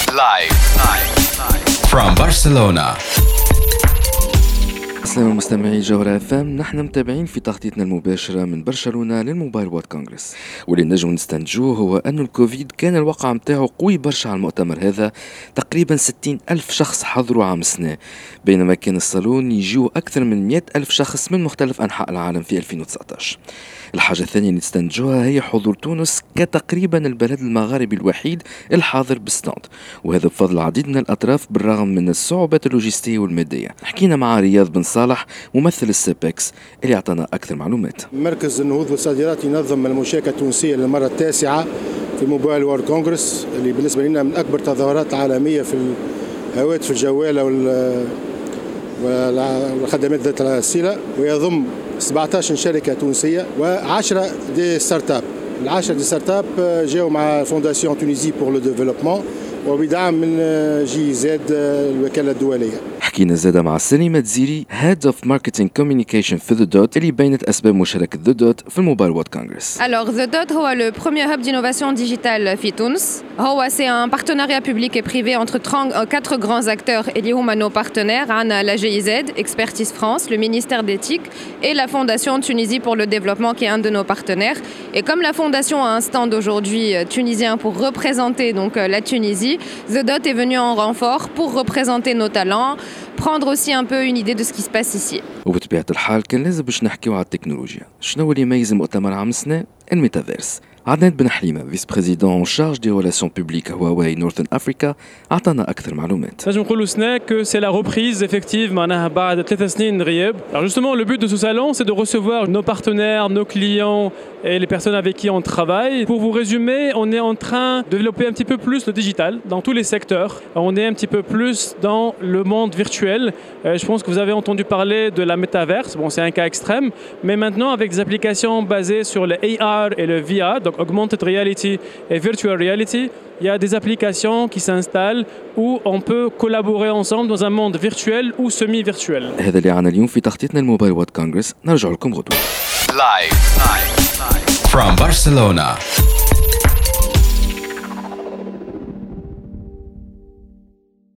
Live from Barcelona. السلام مستمعي جوهرة FM، نحن متابعين في تغطيتنا المباشرة من برشلونة للموبايل وورد كونغرس، واللي نجم نستنتجوه هو أن الكوفيد كان الواقع متاعه قوي برشا على المؤتمر هذا. تقريبا 60,000 شخص حضروا عام سنة، بينما كان الصالون يجيو أكثر من 100,000 شخص من مختلف أنحاء العالم في 2019. الحاجة الثانية اللي نستنتجوها هي حضور تونس كتقريبا البلد المغاربي الوحيد الحاضر بالستاند، وهذا بفضل العديد من الأطراف بالرغم من الصعوبات اللوجستية والمادية. حكينا مع رياض بن صالح ممثل السيبكس اللي أعطانا أكثر معلومات. مركز النهوض والصادرات ينظم المشاركة التونسية للمرة التاسعة في موبايل وورد كونغرس، اللي بالنسبة لنا من أكبر التظاهرات العالمية في الهواتف الجوالة والخدمات ذات الصلة، ويضم 17 شركة تونسية و10 دي ستارت اب. ال10 دي ستارت اب جاءوا مع فونداسيون تونيزي بور لو ديفلوبمون وبدعم من جي زد الوكالة الدولية. حكينا زادة مع سليمة زيري Head of Marketing Communication في The Dot اللي بينت أسباب مشاركة The Dot في الموبايل وورد كونغرس. Alors The Dot هو le premier hub d'innovation digitale في تونس. هو c'est un partenariat public et privé entre 4 grands acteurs اللي هما nos partenaires. عنا la GIZ, Expertise France, le ministère d'éthique et la Fondation Tunisie pour le développement qui est un de nos partenaires. Et comme la fondation a un stand aujourd'hui tunisien pour représenter donc la Tunisie, The Dot est venu en renfort pour représenter nos talents, prendre aussi un peu une idée de ce qui se passe ici. وبطبيعة الحال كان لازم باش نحكيو على التكنولوجيا. شنو اللي يميز مؤتمر عام السنة؟ الميتافيرس. عدنان بن حليمة فيس بريزيدون شارج دي ريلاسيون بوبليك هواوي نورثن افريكا اعطانا اكثر معلومات. نجم نقولوا سنة que c'est la reprise effective معناها بعد 3 سنين غياب. Alors justement le but de ce salon c'est de recevoir nos partenaires, nos clients et les personnes avec qui on travaille. Pour vous résumer, on est en train de développer un petit peu plus le digital dans tous les secteurs. On est un petit peu plus dans le monde virtuel. Je pense que vous avez entendu parler de la métaverse. Bon, c'est un cas extrême, mais maintenant avec des applications basées sur le AR et le VR, donc augmented reality et virtual reality, il y a des applications qui s'installent où on peut collaborer ensemble dans un monde virtuel ou semi-virtuel. هذا اللي عنا اليوم في تغطيتنا الموبايل وورد كونغرس. نرجع لكم غدوة. Live from Barcelona.